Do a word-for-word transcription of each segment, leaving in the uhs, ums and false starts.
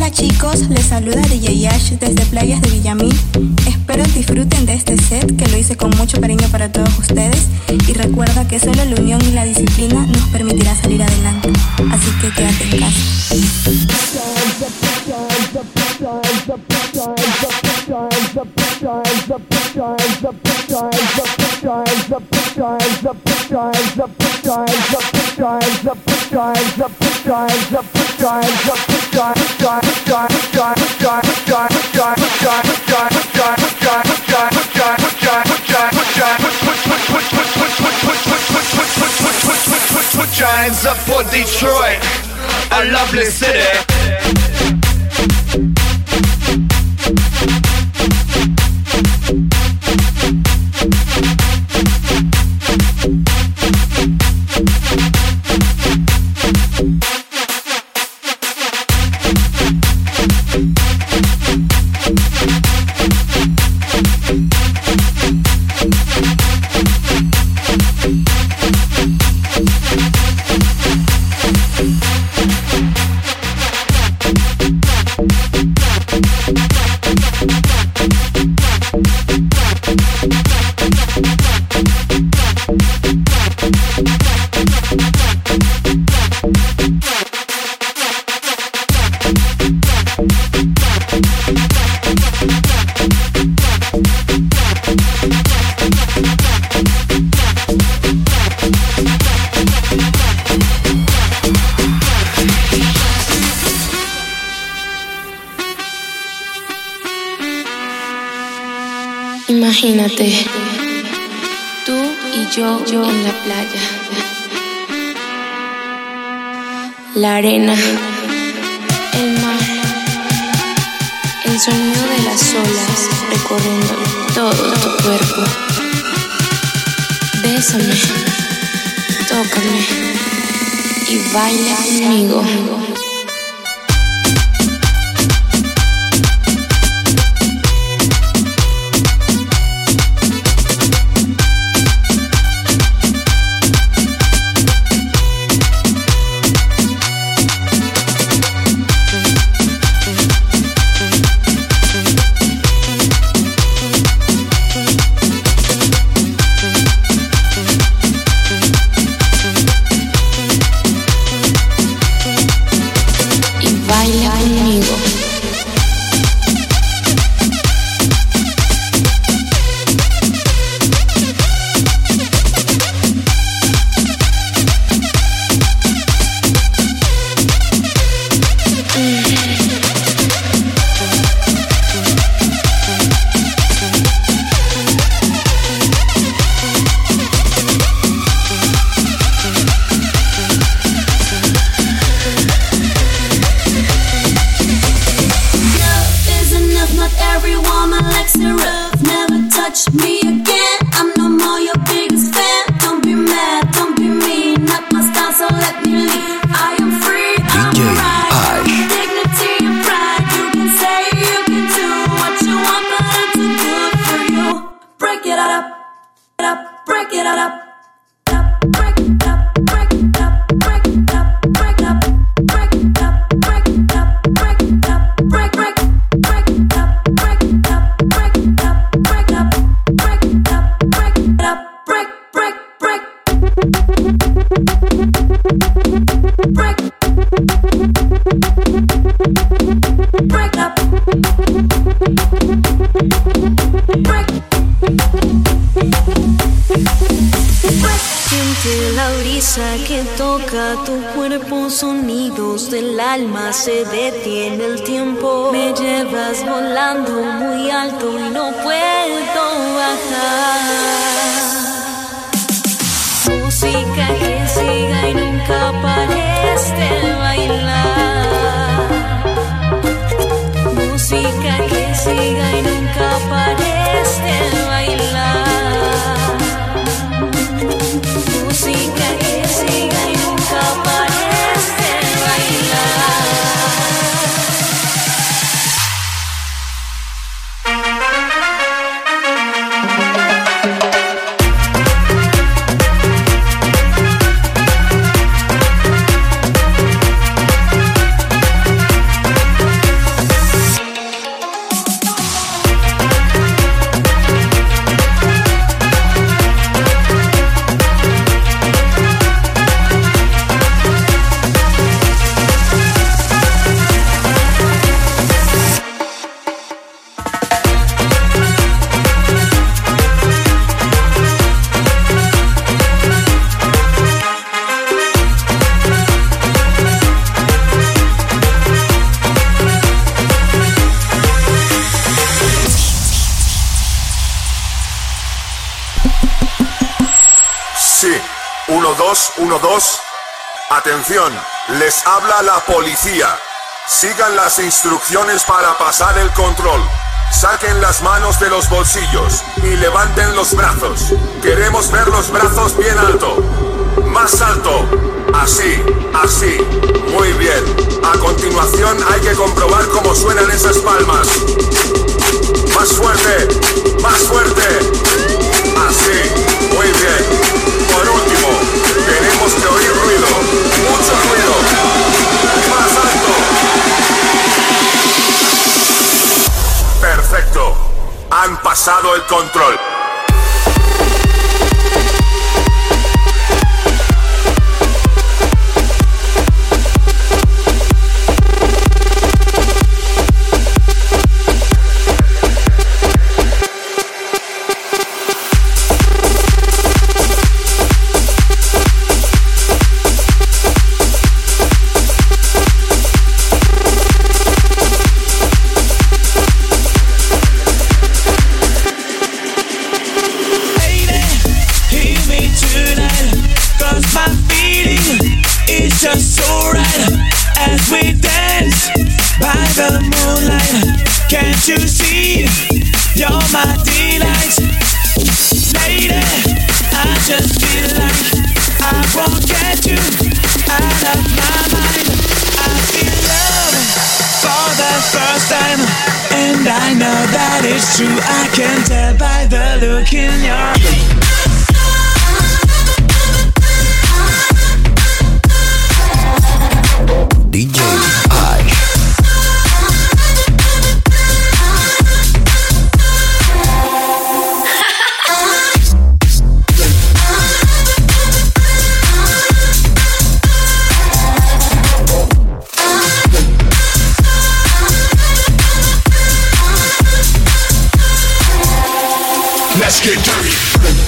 chicos, les saluda D J Ash desde Playas de Villamil. Espero disfruten de este set que lo hice con mucho cariño para todos ustedes. Y recuerda que solo la unión y la disciplina nos permitirá salir adelante. Así que quédate en casa. Put your hands up for Detroit, a lovely city. Imagínate, tú y yo, yo en la playa, la arena, el mar, el sonido de las olas recorriendo todo tu cuerpo. Bésame, tócame y baila conmigo. Sonidos del alma, se detiene el tiempo. Me llevas volando muy alto y no puedo bajar. Música que siga y nunca pares de bailar. Música que siga y nunca pares de bailar. Música que siga y nunca pares. dos, uno, dos. Atención, les habla la policía. Sigan las instrucciones para pasar el control. Saquen las manos de los bolsillos y levanten los brazos. Queremos ver los brazos bien alto. Más alto. Así, así. Muy bien. A continuación hay que comprobar cómo suenan esas palmas. Más fuerte. Más fuerte. Así. Muy bien. Por último, tenemos que oír ruido. Mucho ruido. Más alto. Perfecto. Han pasado el control. Just so right as we dance by the moonlight. Can't you see? You're my delight, lady. I just feel like I won't get you out of my mind. I feel love for the first time, and I know that it's true. I can tell by the look in your eyes. D J Ash. Let's get dirty.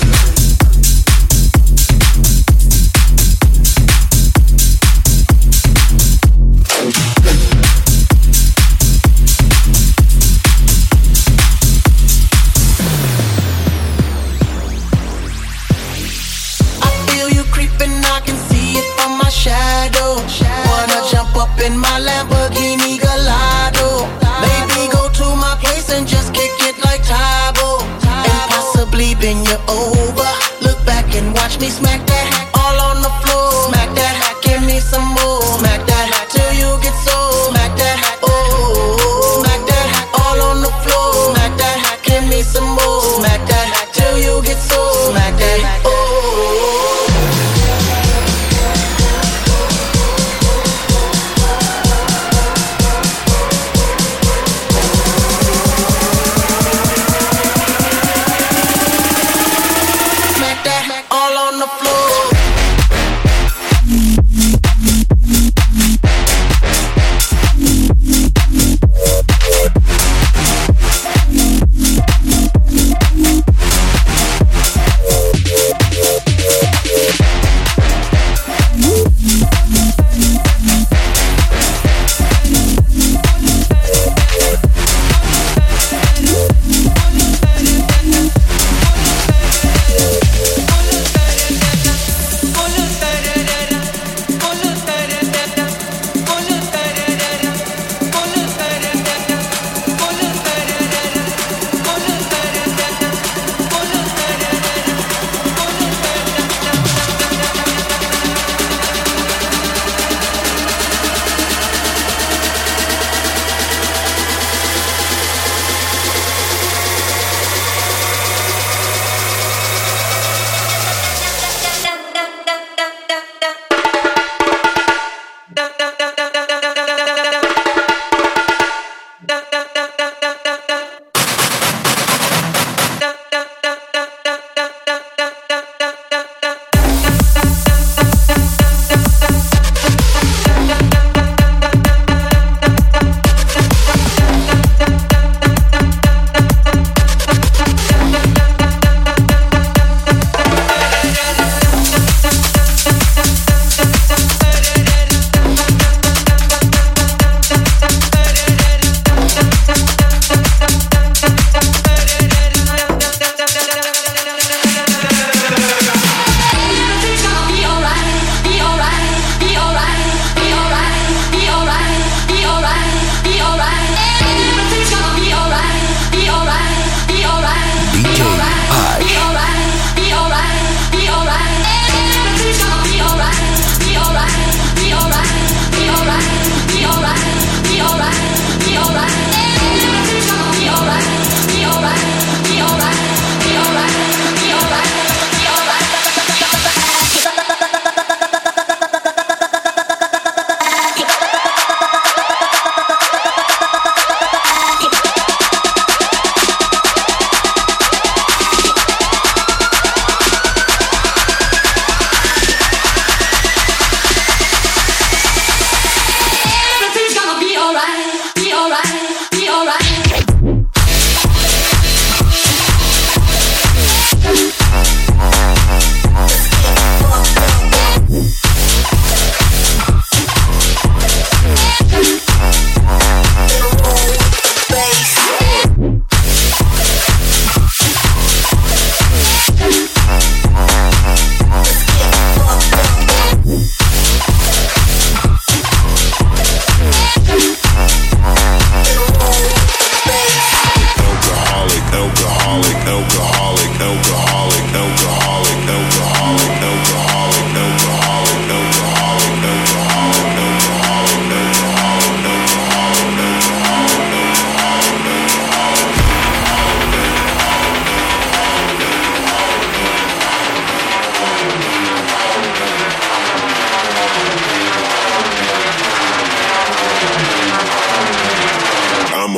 In my Lamborghini Gallardo, maybe go to my place and just kick it like Tybo, and possibly bend you over. Look back and watch me smack that all on the floor. Smack that, give me some more. Smack that till you get so. Smack that, oh, smack that all on the floor. Smack that, give me some more. Smack that till you get so. Smack that, oh. All on the floor.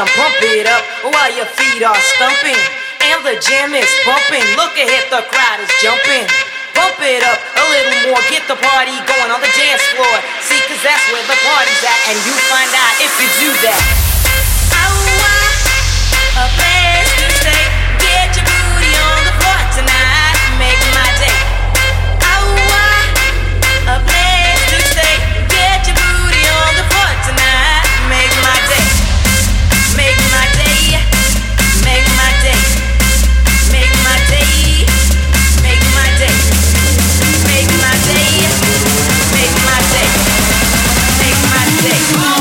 down, pump it up while your feet are stumping. And the jam is pumping. Look ahead, the crowd is jumping. Pump it up a little more, get the party going on the dance floor. See, cause that's where the party's at, and you find out if you do that. A place to stay. Get your booty on the floor tonight. Make my day. A place to stay. Get your booty on the floor tonight. Make my day. Make my day. Make my day. Make my day. Make my day. Make my day. Make my day. Make my day.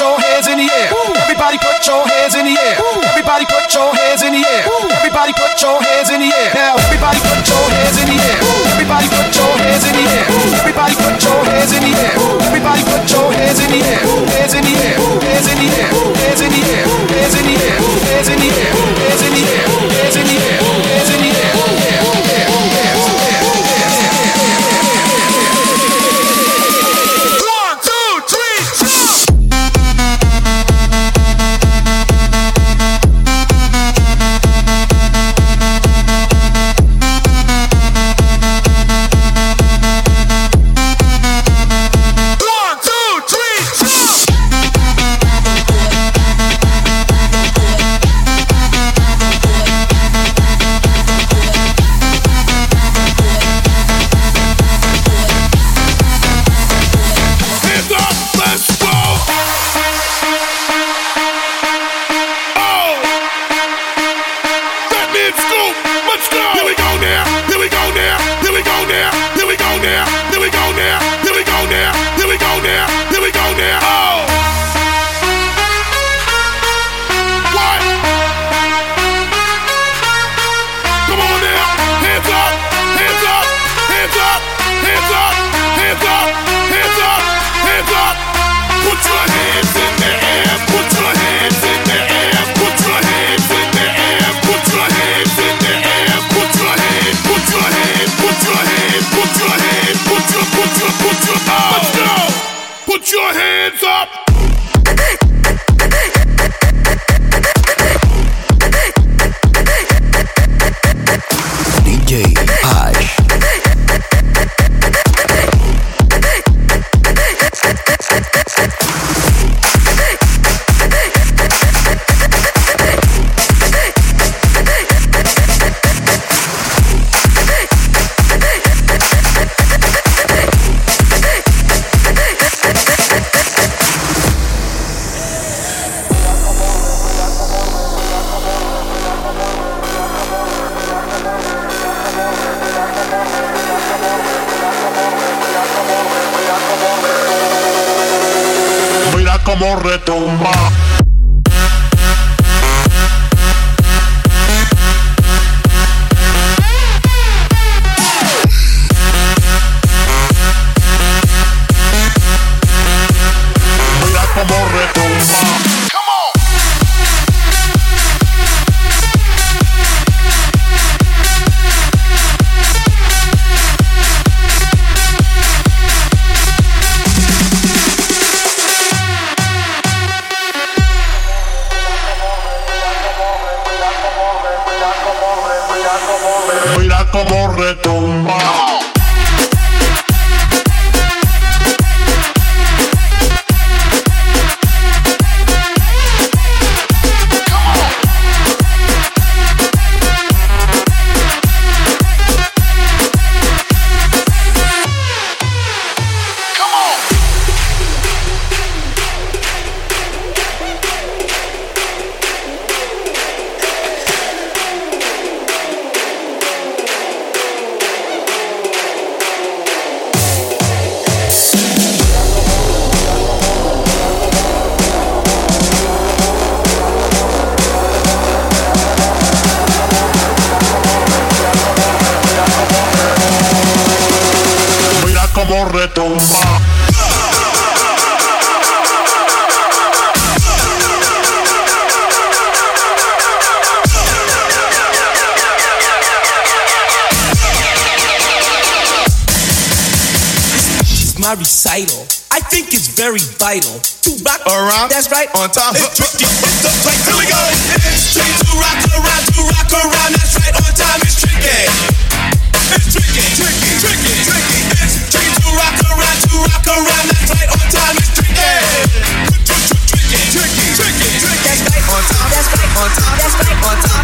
your hands in the air. Everybody put your hands in the air. Everybody put your hands in the air. Everybody put your hands in the air. Now everybody put your hands in the air. Everybody put your hands in the air. Everybody put your hands in the air. Everybody put your hands in the air. Hands in the air. Hands in the air. Hands in the air. Hands in the air. Hands in the air. Hands in the air. Hands in the air. Hands in the air. Put your hands up! D J Ash. Como retumba. Mira como retumba. Mira como retumba. Como retumba. My recital, I think it's very vital to rock around. That's right, on time. It's tricky. It's the place. Here we go. It's tricky to rock around, to rock around. That's right, on time. It's tricky. It's tricky, tricky, tricky, tricky. It's tricky to rock around, to rock around. That's right, on time. It's tricky. Tricky, tricky, tricky, tricky. That's right, on time. That's right, on time. That's right, on time.